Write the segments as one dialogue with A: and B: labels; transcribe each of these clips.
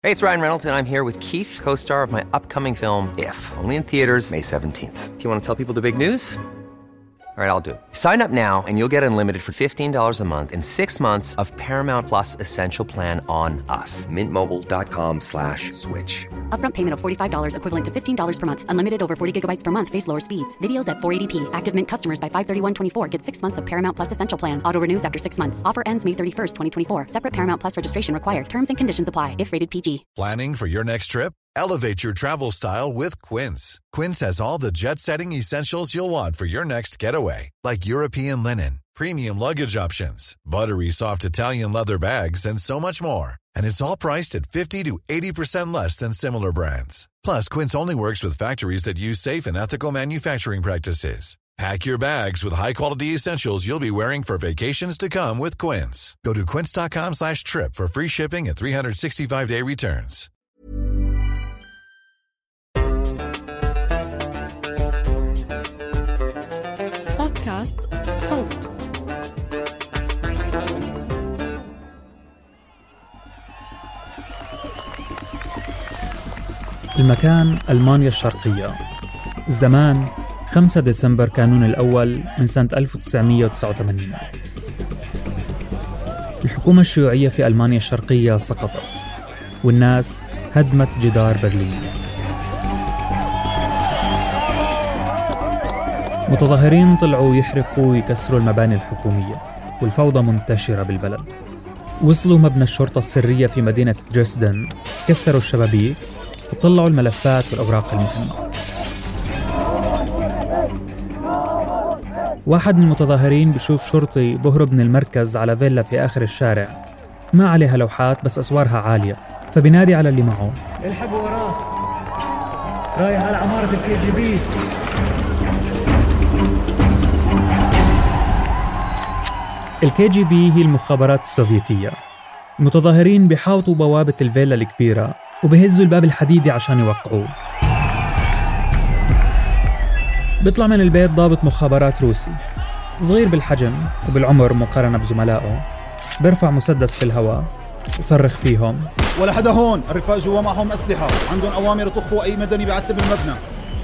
A: Hey, it's Ryan Reynolds, and I'm here with Keith, co-star of my upcoming film, If, only in theaters May 17th. Do you want to tell people the big news? All right, I'll do it. Sign up now and you'll get unlimited for $15 a month and 6 months of Paramount Plus Essential Plan on us. MintMobile.com/switch.
B: Upfront payment of $45 equivalent to $15 per month. Unlimited over 40 gigabytes per month. Face lower speeds. Videos at 480p. Active Mint customers by 531.24 get 6 months of Paramount Plus Essential Plan. Auto renews after 6 months. Offer ends May 31st, 2024. Separate Paramount Plus registration required. Terms and conditions apply if rated PG.
C: Planning for your next trip? Elevate your travel style with Quince. Quince has all the jet-setting essentials you'll want for your next getaway, like European linen, premium luggage options, buttery soft Italian leather bags, and so much more. And it's all priced at 50 to 80% less than similar brands. Plus, Quince only works with factories that use safe and ethical manufacturing practices. Pack your bags with high-quality essentials you'll be wearing for vacations to come with Quince. Go to quince.com/trip for free shipping and 365-day returns.
D: بودكاست صوت. المكان ألمانيا الشرقية. الزمان 5 ديسمبر كانون الأول من سنة 1989. الحكومة الشيوعية في ألمانيا الشرقية سقطت والناس هدمت جدار برلين. متظاهرين طلعوا يحرقوا ويكسروا المباني الحكومية والفوضى منتشرة بالبلد. وصلوا مبنى الشرطة السرية في مدينة دريسدن، كسروا الشبابيك وطلعوا الملفات والأوراق المهمة. واحد من المتظاهرين بشوف شرطي بهرب من المركز على فيلا في آخر الشارع ما عليها لوحات بس أسوارها عالية، فبينادي على اللي معه: الحقوا وراه، رايح على عمارة الKGB. الKGB هي المخابرات السوفيتية. المتظاهرين بيحاوطوا بوابة الفيلا الكبيرة وبيهزوا الباب الحديدي عشان يوقعوه. بيطلع من البيت ضابط مخابرات روسي صغير بالحجم وبالعمر مقارنة بزملائه، بيرفع مسدس في الهواء يصرخ فيهم:
E: ولا حدا هون، الرفاق جوا معهم أسلحة، عندهم أوامر يطخوا أي مدني بيعتب المبنى.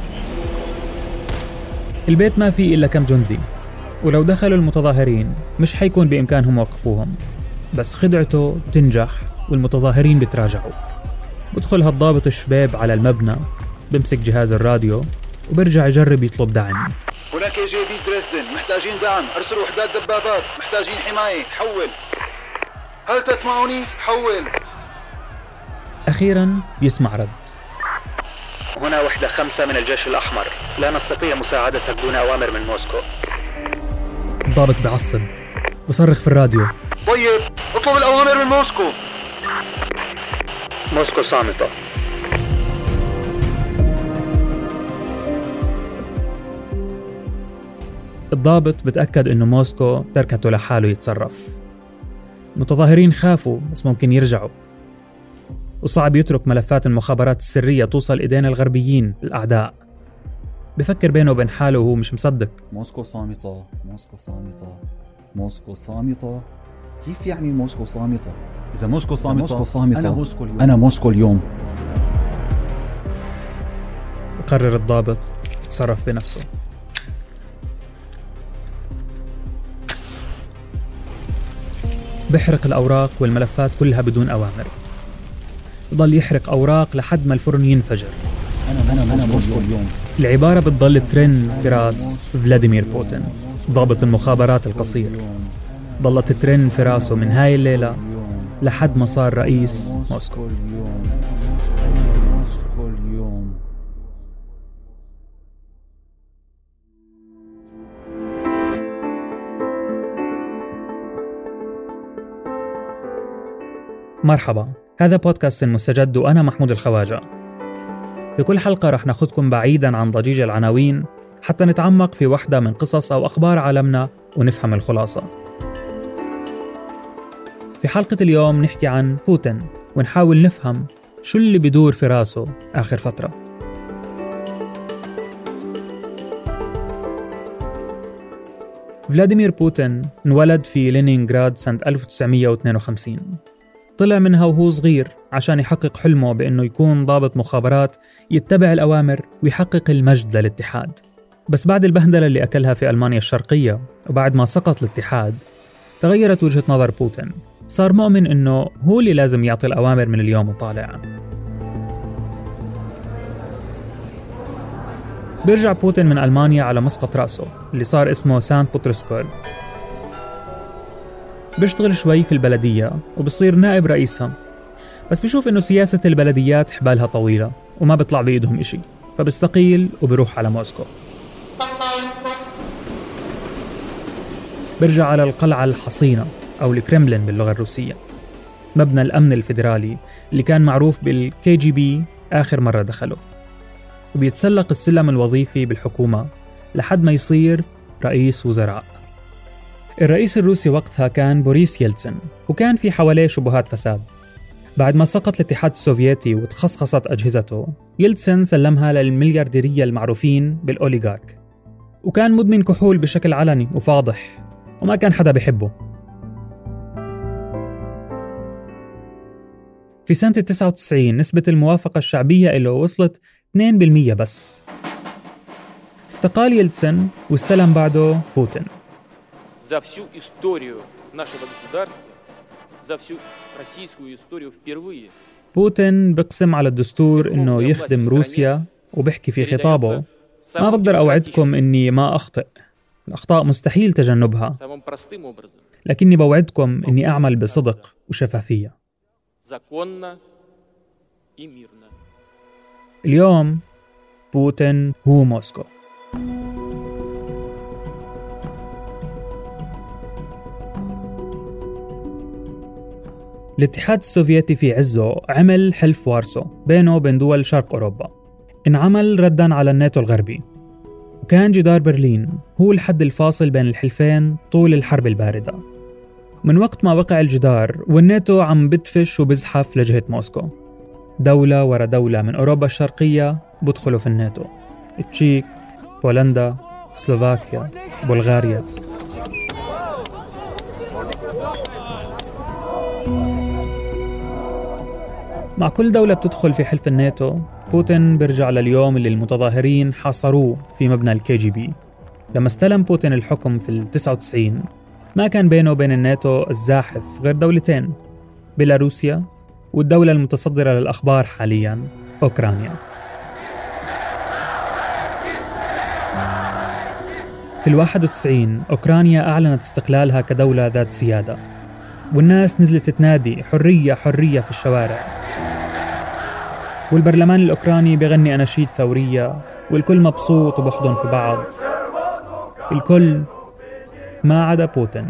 B: البيت ما فيه إلا كم جندي، ولو دخلوا المتظاهرين مش حيكون بإمكانهم وقفوهم، بس خدعته بتنجح والمتظاهرين بتراجعوا. بدخل هالضابط الشباب على المبنى، بمسك جهاز الراديو وبرجع يجرب يطلب دعم.
E: هناك KGB دريسدن، محتاجين دعم، أرسلوا وحدات دبابات، محتاجين حماية، حول. هل تسمعوني؟ حول.
B: أخيراً يسمع رد:
F: هنا وحدة 5 من الجيش الأحمر، لا نستطيع مساعدتك دون أوامر من موسكو.
B: الضابط بعصب وصرخ في الراديو:
E: طيب اطلب الأوامر من موسكو.
F: موسكو صامتة.
B: الضابط بتأكد إنه موسكو تركته لحاله يتصرف. المتظاهرين خافوا بس ممكن يرجعوا، وصعب يترك ملفات المخابرات السرية توصل إيدين الغربيين الأعداء. بفكر بينه وبين حاله وهو مش مصدق.
E: موسكو صامتة، موسكو صامتة، موسكو صامتة. كيف يعني موسكو صامتة؟ إذا موسكو صامتة أنا موسكو اليوم.
B: قرر الضابط يتصرف بنفسه. بيحرق الأوراق والملفات كلها بدون أوامر. يضل يحرق أوراق لحد ما الفرن ينفجر.
E: أنا موسكو اليوم.
B: العبارة بتضل ترن في راس فلاديمير بوتين، ضابط المخابرات القصير. ضلت ترن في راسه من هاي الليلة لحد ما صار رئيس موسكو. مرحبا، هذا بودكاست المستجد وأنا محمود الخواجة. في كل حلقة رح ناخدكم بعيداً عن ضجيج العناوين حتى نتعمق في واحدة من قصص أو أخبار عالمنا ونفهم الخلاصة. في حلقة اليوم نحكي عن بوتين ونحاول نفهم شو اللي بيدور في راسه آخر فترة. فلاديمير بوتين انولد في لينينغراد سنة 1952. طلع منها وهو صغير عشان يحقق حلمه بأنه يكون ضابط مخابرات يتبع الأوامر ويحقق المجد للاتحاد. بس بعد البهدلة اللي أكلها في ألمانيا الشرقية وبعد ما سقط الاتحاد تغيرت وجهة نظر بوتين. صار مؤمن أنه هو اللي لازم يعطي الأوامر من اليوم وطالع. بيرجع بوتين من ألمانيا على مسقط رأسه اللي صار اسمه سانت بطرسبرغ. بيشتغل شوي في البلدية وبصير نائب رئيسها، بس بيشوف إنه سياسة البلديات حبالها طويلة وما بيطلع بإيدهم إشي، فبيستقيل وبيروح على موسكو. بيرجع على القلعة الحصينة أو الكرملين باللغة الروسية، مبنى الأمن الفيدرالي اللي كان معروف بالKGB آخر مرة دخله، وبيتسلق السلم الوظيفي بالحكومة لحد ما يصير رئيس وزراء. الرئيس الروسي وقتها كان بوريس يلتسن، وكان في حواليه شبهات فساد. بعد ما سقط الاتحاد السوفيتي وتخصخصت أجهزته، يلتسن سلمها للمليارديرية المعروفين بالأوليغارك، وكان مدمن كحول بشكل علني وفاضح وما كان حدا بيحبه. في سنة 99 نسبة الموافقة الشعبية له وصلت 2% بس. استقال يلتسن واستلم بعده بوتين.
G: За всю историю нашего государства, за всю российскую историю впервые.
B: بوتين بقسم على الدستور إنه يخدم روسيا وبحكي في خطابه: ما بقدر أوعدكم إني ما أخطئ، الأخطاء مستحيل تجنبها، لكني بوعدكم إني أعمل بصدق وشفافية. اليوم بوتين هو موسكو. الاتحاد السوفيتي في عزه عمل حلف وارسو بينه وبين دول شرق أوروبا، انعمل رداً على الناتو الغربي، وكان جدار برلين هو الحد الفاصل بين الحلفين طول الحرب الباردة. من وقت ما وقع الجدار والناتو عم بدفش وبزحف لجهة موسكو، دولة ورا دولة من أوروبا الشرقية بدخلوا في الناتو: التشيك، بولندا، سلوفاكيا، بلغاريا. مع كل دولة بتدخل في حلف الناتو، بوتين بيرجع لليوم اللي المتظاهرين حاصروه في مبنى الKGB. لما استلم بوتين الحكم في 99 ما كان بينه وبين الناتو الزاحف غير دولتين: بيلاروسيا والدولة المتصدرة للأخبار حالياً أوكرانيا. في 91 أوكرانيا أعلنت استقلالها كدولة ذات سيادة، والناس نزلت تنادي حرية حرية في الشوارع، والبرلمان الأوكراني بيغني أناشيد ثورية، والكل مبسوط وبحضن في بعض، الكل ما عدا بوتين.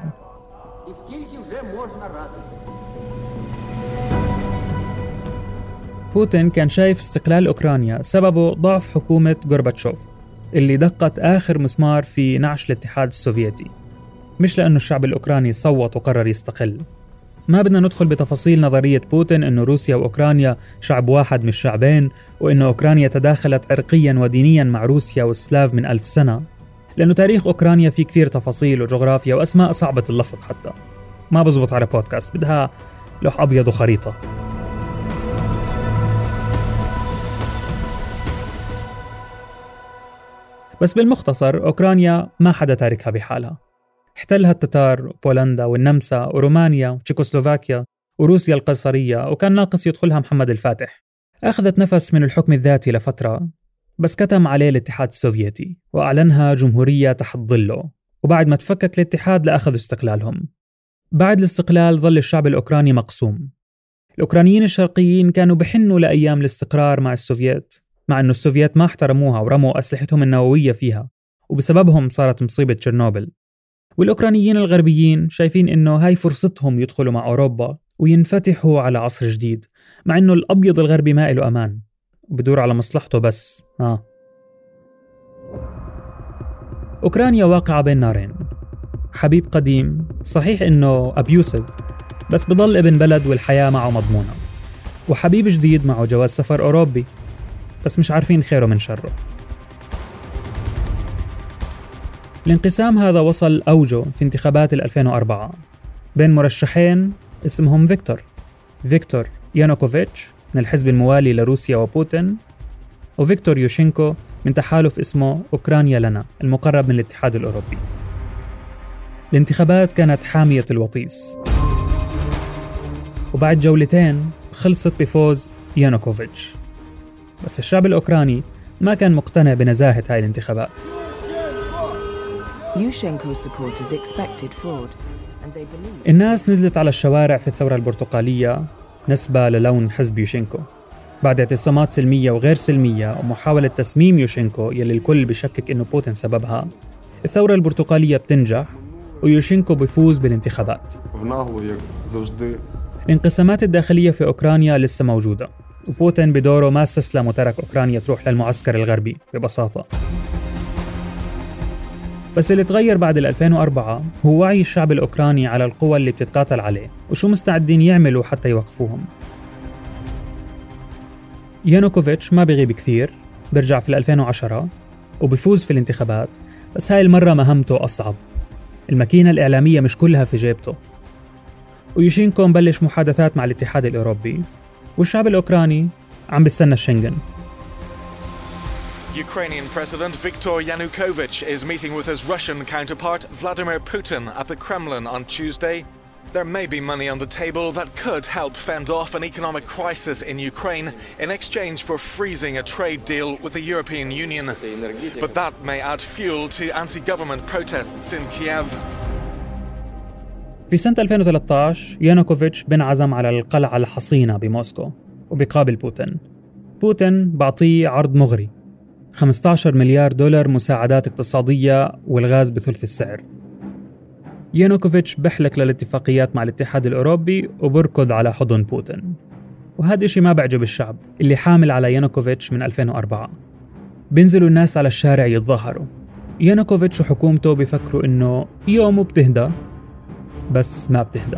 B: بوتين كان شايف استقلال أوكرانيا سببه ضعف حكومة غورباتشوف اللي دقت آخر مسمار في نعش الاتحاد السوفيتي، مش لأنه الشعب الأوكراني صوت وقرر يستقل. ما بدنا ندخل بتفاصيل نظرية بوتين إنه روسيا وأوكرانيا شعب واحد مش شعبين، وإنه أوكرانيا تداخلت عرقياً ودينياً مع روسيا والسلاف من 1000 سنة، لأنه تاريخ أوكرانيا فيه كثير تفاصيل وجغرافيا وأسماء صعبة اللفظ، حتى ما بزبط على بودكاست، بدها لوح أبيض وخريطة. بس بالمختصر أوكرانيا ما حدا تاركها بحالها، احتلها التتار وبولندا والنمسا ورومانيا وتشيكوسلوفاكيا وروسيا القيصرية، وكان ناقص يدخلها محمد الفاتح. أخذت نفس من الحكم الذاتي لفترة، بس كتم عليه الاتحاد السوفيتي وأعلنها جمهورية تحت ظله، وبعد ما تفكك الاتحاد لأخذوا استقلالهم. بعد الاستقلال ظل الشعب الأوكراني مقسوم. الأوكرانيين الشرقيين كانوا بحنوا لأيام الاستقرار مع السوفيت، مع أنه السوفيت ما احترموها ورموا أسلحتهم النووية فيها، وبسببهم صارت مصيبة تشيرنوبل. والأوكرانيين الغربيين شايفين إنه هاي فرصتهم يدخلوا مع أوروبا وينفتحوا على عصر جديد، مع إنه الأبيض الغربي ما إله أمان وبدور على مصلحته بس. أوكرانيا واقعة بين نارين: حبيب قديم صحيح إنه أبيوسيف، بس بضل ابن بلد والحياة معه مضمونة، وحبيب جديد معه جواز سفر أوروبي، بس مش عارفين خيره من شره. الانقسام هذا وصل أوجه في انتخابات 2004 بين مرشحين اسمهم فيكتور، فيكتور يانوكوفيتش من الحزب الموالي لروسيا وبوتين، وفيكتور يوشينكو من تحالف اسمه أوكرانيا لنا المقرب من الاتحاد الأوروبي. الانتخابات كانت حامية الوطيس، وبعد جولتين خلصت بفوز يانوكوفيتش. بس الشعب الأوكراني ما كان مقتنع بنزاهة هاي الانتخابات. الناس نزلت على الشوارع في الثورة البرتقالية نسبة للون حزب يوشينكو بعد اعتصامات سلمية وغير سلمية ومحاولة تسميم يوشينكو يلي الكل بشكك إنه بوتين سببها. الثورة البرتقالية بتنجح ويوشينكو بيفوز بالانتخابات. الانقسامات الداخلية في أوكرانيا لسه موجودة، وبوتين بدوره ما استسلم وترك أوكرانيا تروح للمعسكر الغربي ببساطة. بس اللي تغير بعد 2004 هو وعي الشعب الأوكراني على القوى اللي بتتقاتل عليه وشو مستعدين يعملوا حتى يوقفوهم. يانوكوفيتش ما بيغيب كثير، برجع في 2010 وبيفوز في الانتخابات، بس هاي المرة مهمته أصعب. الماكينة الإعلامية مش كلها في جيبته، ويوشينكو مبلش محادثات مع الاتحاد الأوروبي، والشعب الأوكراني عم بيستنى الشنغن.
H: Ukrainian President Viktor Yanukovych is meeting with his Russian counterpart Vladimir Putin at the Kremlin on Tuesday. There may be money on the table that could help fend off an economic crisis in Ukraine in exchange for freezing a trade deal with the European Union. But that may add fuel to anti-government protests in Kiev.
B: في سنة 2013 يانوكوفيتش بنعزم على القلعة الحصينة بموسكو وبيقابل بوتين. بوتين بعطيه عرض مغري، 15 مليار دولار مساعدات اقتصادية والغاز بثلث السعر. يانوكوفيتش بحلك للاتفاقيات مع الاتحاد الأوروبي وبركض على حضن بوتين، وهذا الشيء ما بعجب الشعب اللي حامل على يانوكوفيتش من 2004. بينزلوا الناس على الشارع يتظاهروا. يانوكوفيتش وحكومته بيفكروا إنه يوم بتهدى، بس ما بتهدى.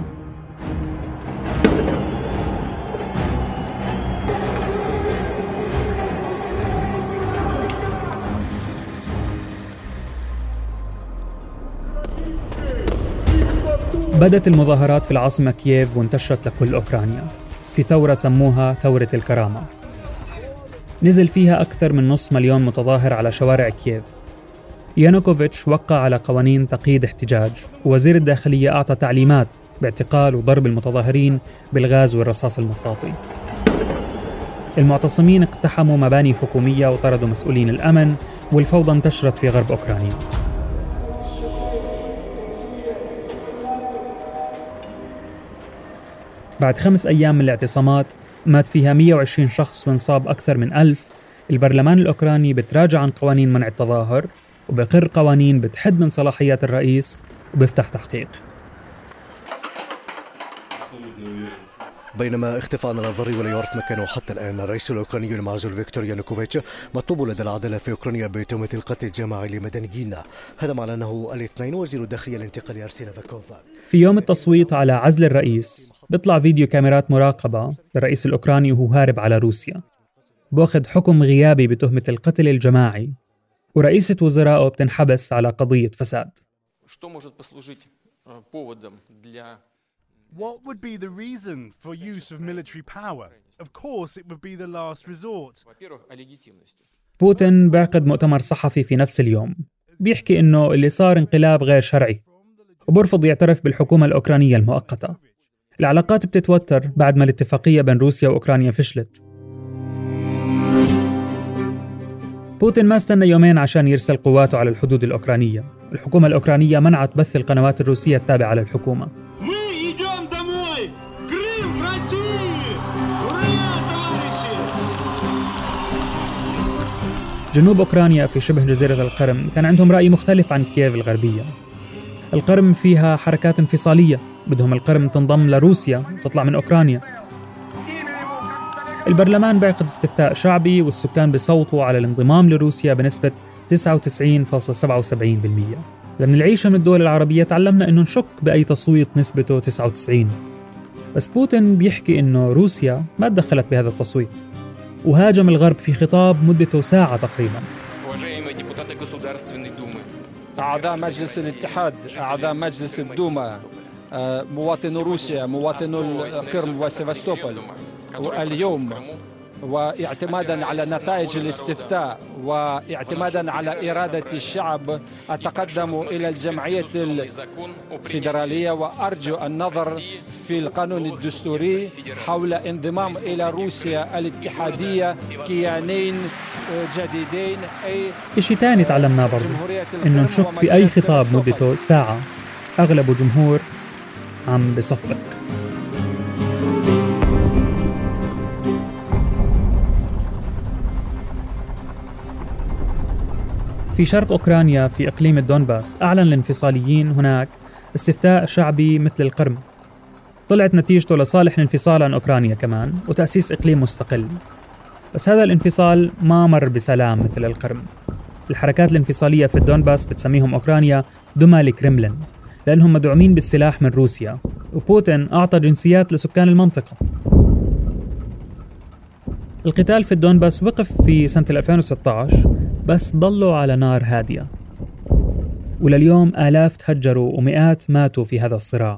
B: بدت المظاهرات في العاصمة كييف وانتشرت لكل أوكرانيا في ثورة سموها ثورة الكرامة. نزل فيها أكثر من 500,000 متظاهر على شوارع كييف. يانوكوفيتش وقع على قوانين تقييد احتجاج، ووزير الداخلية أعطى تعليمات باعتقال وضرب المتظاهرين بالغاز والرصاص المطاطي. المعتصمين اقتحموا مباني حكومية وطردوا مسؤولين الأمن، والفوضى انتشرت في غرب أوكرانيا. بعد 5 أيام من الاعتصامات مات فيها 120 شخص وانصاب أكثر من 1000. البرلمان الأوكراني بتراجع عن قوانين منع التظاهر وبقر قوانين بتحد من صلاحيات الرئيس وبيفتح تحقيق.
I: بينما اختفى عن الأنظار ولا يعرف مكانه حتى الآن الرئيس الأوكراني المعزول فيكتور يانوكوفيتش مطلوب لدى العدالة في أوكرانيا بتهمة القتل الجماعي لمدنيين. هذا مع أنه الاثنين وزير الداخلية الانتقالي أرسين فاكوف.
B: في يوم التصويت على عزل الرئيس بيطلع فيديو كاميرات مراقبة للرئيس الأوكراني وهو هارب على روسيا، بأخذ حكم غيابي بتهمة القتل الجماعي، ورئيسة وزرائه بتنحبس على قضية فساد.
J: What would be the reason for use of military power? Of course it would be the last resort.
B: بوتين بعقد مؤتمر صحفي في نفس اليوم بيحكي إنه اللي صار انقلاب غير شرعي، وبرفض يعترف بالحكومة الأوكرانية المؤقتة. العلاقات بتتوتر بعد ما الاتفاقية بين روسيا وأوكرانيا فشلت. بوتين ما استنى يومين عشان يرسل قواته على الحدود الأوكرانية. الحكومة الأوكرانية منعت بث القنوات الروسية التابعة للحكومة. جنوب أوكرانيا في شبه جزيرة القرم كان عندهم رأي مختلف عن كييف الغربية. القرم فيها حركات انفصالية، بدهم القرم تنضم لروسيا وتطلع من أوكرانيا. البرلمان بيعقد استفتاء شعبي والسكان بيصوتوا على الانضمام لروسيا بنسبة 99.77%. لما نعيشها من الدول العربية تعلمنا إنه نشك بأي تصويت نسبته 99. بس بوتين بيحكي إنه روسيا ما تدخلت بهذا التصويت، وهاجم الغرب في خطاب مدته ساعة تقريباً.
K: أعضاء مجلس الاتحاد، أعضاء مجلس الدوما، مواطنو روسيا مواطنو القرم وسيفاستوبول اليوم، واعتمادا على نتائج الاستفتاء واعتمادا على إرادة الشعب أتقدم إلى الجمعية الفيدرالية وأرجو النظر في القانون الدستوري حول انضمام إلى روسيا الاتحادية كيانين جديدين.
B: إشي تاني تعلمناه برضو إنه نشك في أي خطاب مدته ساعة أغلب جمهور عم بصفق. في شرق أوكرانيا في إقليم الدونباس أعلن الانفصاليين هناك استفتاء شعبي مثل القرم. طلعت نتيجته لصالح الانفصال عن أوكرانيا كمان وتأسيس إقليم مستقل. بس هذا الانفصال ما مر بسلام مثل القرم. الحركات الانفصالية في الدونباس بتسميهم أوكرانيا دمى الكرملين لأنهم مدعومين بالسلاح من روسيا، وبوتين أعطى جنسيات لسكان المنطقة. القتال في الدونباس وقف في سنة 2016 بس ضلوا على نار هادية، ولليوم آلاف تهجروا ومئات ماتوا في هذا الصراع.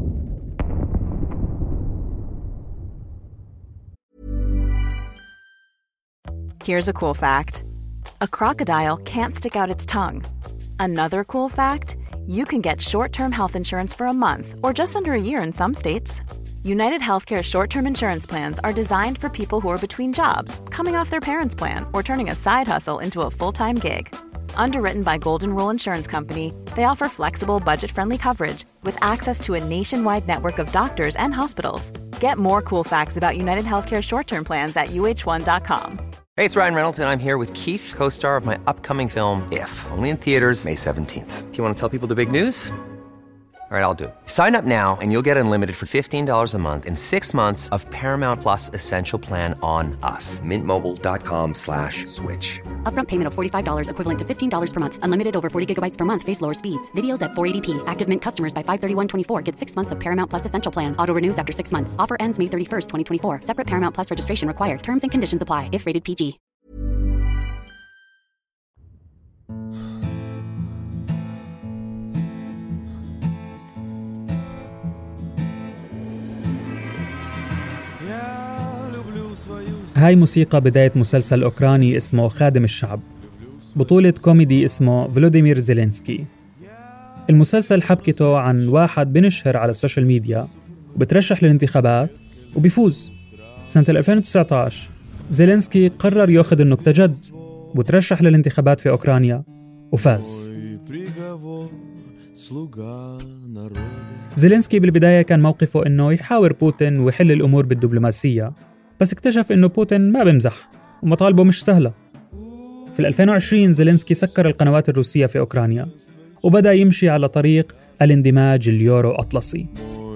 L: Here's a cool fact. A crocodile can't stick out its tongue. Another cool fact, you can get short-term health insurance for a month or just under a year in some states. United Healthcare short-term insurance plans are designed for people who are between jobs, coming off their parents' plan, or turning a side hustle into a full-time gig. Underwritten by Golden Rule Insurance Company, they offer flexible, budget-friendly coverage with access to a nationwide network of doctors and hospitals. Get more cool facts about United Healthcare short-term plans at uh1.com.
A: Hey, it's Ryan Reynolds, and I'm here with Keith, co-star of my upcoming film, If, only in theaters May 17th. Do you want to tell people the big news? All right, I'll do it. Sign up now and you'll get unlimited for $15 a month and 6 months of Paramount Plus Essential Plan on us. MintMobile.com/switch.
M: Upfront payment of $45 equivalent to $15 per month. Unlimited over 40 gigabytes per month. Face lower speeds. Videos at 480p. Active Mint customers by 531.24 get 6 months of Paramount Plus Essential Plan. Auto renews after 6 months. Offer ends May 31st, 2024. Separate Paramount Plus registration required. Terms and conditions apply if rated PG.
B: هاي موسيقى بداية مسلسل أوكراني اسمه خادم الشعب، بطولة كوميدي اسمه فلوديمير زيلينسكي. المسلسل حبكته عن واحد بنشهر على السوشيال ميديا وبترشح للانتخابات وبيفوز. سنة 2019 زيلينسكي قرر يأخذ النكتة جد وترشح للانتخابات في أوكرانيا وفاز. زيلينسكي بالبداية كان موقفه إنه يحاور بوتين ويحل الأمور بالدبلوماسية، بس اكتشف إنه بوتين ما بمزح ومطالبه مش سهلة. في 2020 زيلينسكي سكر القنوات الروسية في أوكرانيا وبدأ يمشي على طريق الاندماج اليورو أطلسي.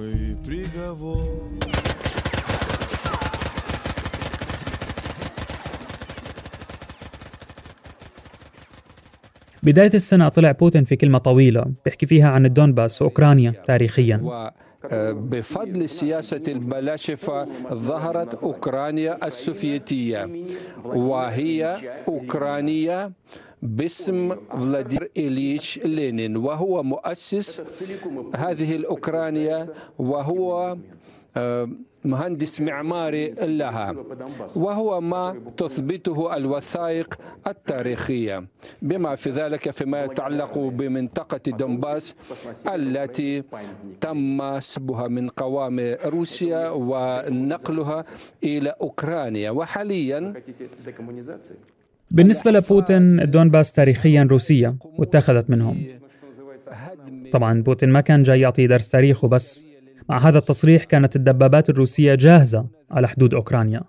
B: بداية السنة طلع بوتين في كلمة طويلة بيحكي فيها عن الدونباس وأوكرانيا تاريخياً.
K: بفضل سياسة البلاشفة ظهرت أوكرانيا السوفيتية، وهي أوكرانيا باسم فلاديمير إليتش لينين، وهو مؤسس هذه الأوكرانيا وهو مهندس معماري لها، وهو ما تثبته الوثائق التاريخية بما في ذلك فيما يتعلق بمنطقة دونباس التي تم سحبها من قوام روسيا ونقلها إلى أوكرانيا. وحاليا
B: بالنسبة لبوتين الدونباس تاريخيا روسية واتخذت منهم. طبعا بوتين ما كان جاي يعطي درس تاريخ وبس، مع هذا التصريح كانت الدبابات الروسية جاهزة على حدود أوكرانيا.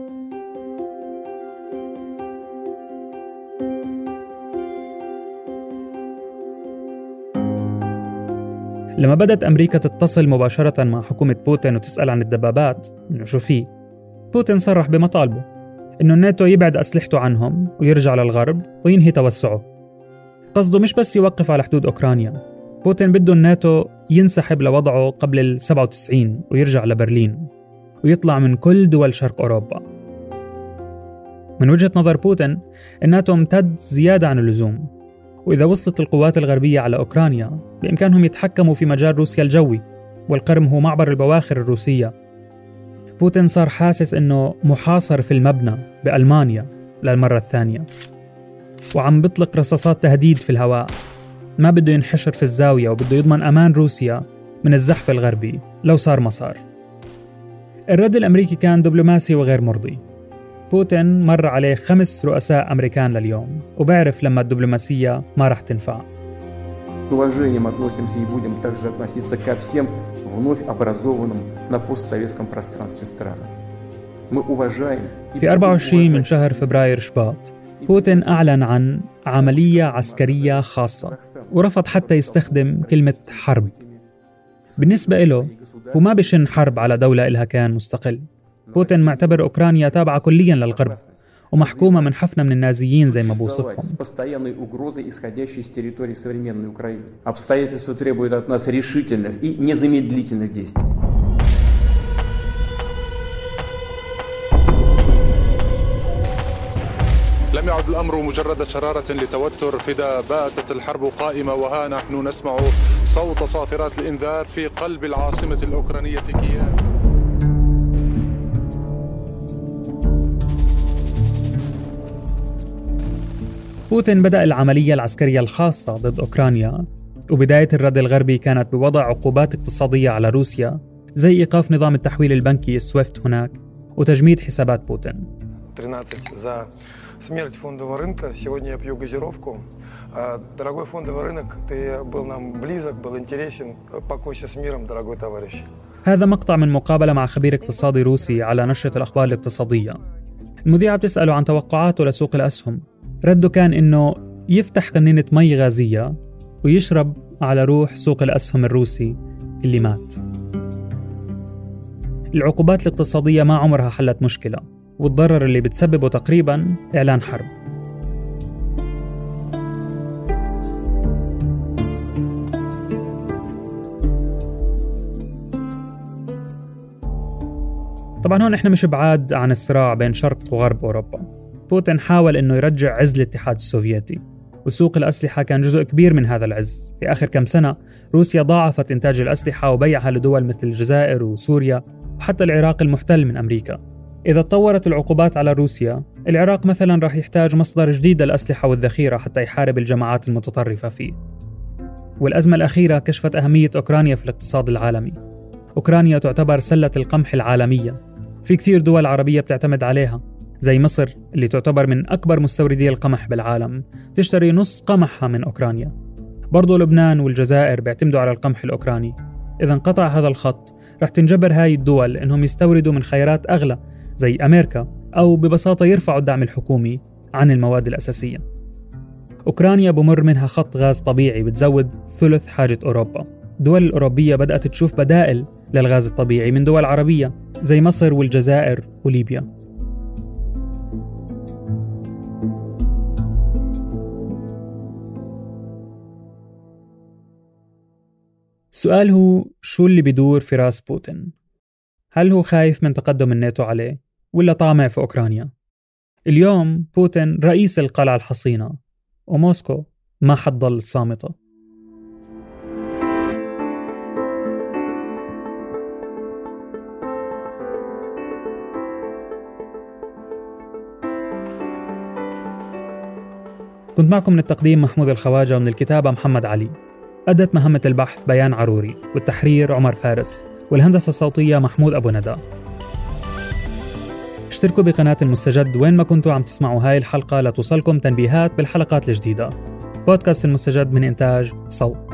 B: لما بدأت أمريكا تتصل مباشرة مع حكومة بوتين وتسأل عن الدبابات إنه شو فيه، بوتين صرح بمطالبه إنه الناتو يبعد أسلحته عنهم ويرجع للغرب وينهي توسعه. قصده مش بس يوقف على حدود أوكرانيا، بوتين بده الناتو ينسحب لوضعه قبل 97 ويرجع لبرلين ويطلع من كل دول شرق أوروبا. من وجهة نظر بوتين الناتو امتد زيادة عن اللزوم، وإذا وصلت القوات الغربية على أوكرانيا بإمكانهم يتحكموا في مجال روسيا الجوي والقرم هو معبر البواخر الروسية. بوتين صار حاسس إنه محاصر في المبنى بألمانيا للمرة الثانية، وعم بيطلق رصاصات تهديد في الهواء. ما بده ينحشر في الزاوية وبده يضمن أمان روسيا من الزحف الغربي لو صار ما صار. الرد الأمريكي كان دبلوماسي وغير مرضي. بوتين مر عليه 5 رؤساء أمريكان لليوم، وبعرف لما الدبلوماسية ما رح تنفع.
G: Уважением относимся и будем также относиться ко всем вновь образованным на постсоветском пространстве странам. Мы уважаем.
B: في 24 من شهر فبراير شباط، بوتين أعلن عن عملية عسكرية خاصة، ورفض حتى يستخدم كلمة حرب. بالنسبة له هو ما بشن حرب على دولة إلها كان مستقل. بوتين معتبر أوكرانيا تابعة كلياً للغرب ومحكومة من حفنة من النازيين زي ما بوصفهم.
N: لم يعد الأمر مجرد شرارة لتوتر فدا باتت الحرب قائمة، وها نحن نسمع صوت صافرات الإنذار في قلب العاصمة الأوكرانية كييف.
B: بوتين بدأ العملية العسكرية الخاصة ضد أوكرانيا، وبداية الرد الغربي كانت بوضع عقوبات اقتصادية على روسيا زي إيقاف نظام التحويل البنكي السويفت هناك وتجميد حسابات بوتين.
O: 13 за смерть фондового рынка. Сегодня я пью газировку. Дорогой фондовый рынок, ты был нам близок, был интересен. Покойся с миром, дорогой товарищ.
B: هذا مقطع من مقابلة مع خبير اقتصادي روسي على نشرة الأخبار الاقتصادية. المذيعة بتسأله عن توقعاته لسوق الأسهم. رده كان إنه يفتح قنينة مي غازية ويشرب على روح سوق الأسهم الروسي اللي مات. العقوبات الاقتصادية ما عمرها حلت مشكلة، والضرر اللي بتسببه تقريباً إعلان حرب. طبعاً هون إحنا مش بعاد عن الصراع بين شرق وغرب أوروبا. بوتين حاول إنه يرجع عز الاتحاد السوفيتي، وسوق الأسلحة كان جزء كبير من هذا العز. في آخر كم سنة روسيا ضاعفت إنتاج الأسلحة وبيعها لدول مثل الجزائر وسوريا وحتى العراق المحتل من أمريكا. إذا تطورت العقوبات على روسيا، العراق مثلا راح يحتاج مصدر جديد للأسلحة والذخيرة حتى يحارب الجماعات المتطرفة فيه. والأزمة الأخيرة كشفت أهمية أوكرانيا في الاقتصاد العالمي. أوكرانيا تعتبر سلة القمح العالمية، في كثير دول عربية بتعتمد عليها زي مصر اللي تعتبر من أكبر مستوردي القمح بالعالم، تشتري نص قمحها من أوكرانيا. برضو لبنان والجزائر بيعتمدوا على القمح الأوكراني. إذا انقطع هذا الخط رح تنجبر هاي الدول إنهم يستوردوا من خيارات أغلى زي أمريكا، أو ببساطة يرفعوا الدعم الحكومي عن المواد الأساسية. أوكرانيا بمر منها خط غاز طبيعي بتزود ثلث حاجة أوروبا. الدول الأوروبية بدأت تشوف بدائل للغاز الطبيعي من دول عربية زي مصر والجزائر وليبيا. السؤال هو شو اللي بيدور في راس بوتين؟ هل هو خايف من تقدم الناتو عليه ولا طامع في أوكرانيا؟ اليوم بوتين رئيس القلعة الحصينة، وموسكو ما حتضل صامتة. كنت معكم من التقديم محمود الخواجة، ومن الكتابة محمد علي. أدت مهمة البحث بيان عروري، والتحرير عمر فارس، والهندسة الصوتية محمود أبو ندى. اشتركوا بقناة المستجد وين ما كنتوا عم تسمعوا هاي الحلقة لتوصلكم تنبيهات بالحلقات الجديدة. بودكاست المستجد من إنتاج صوت.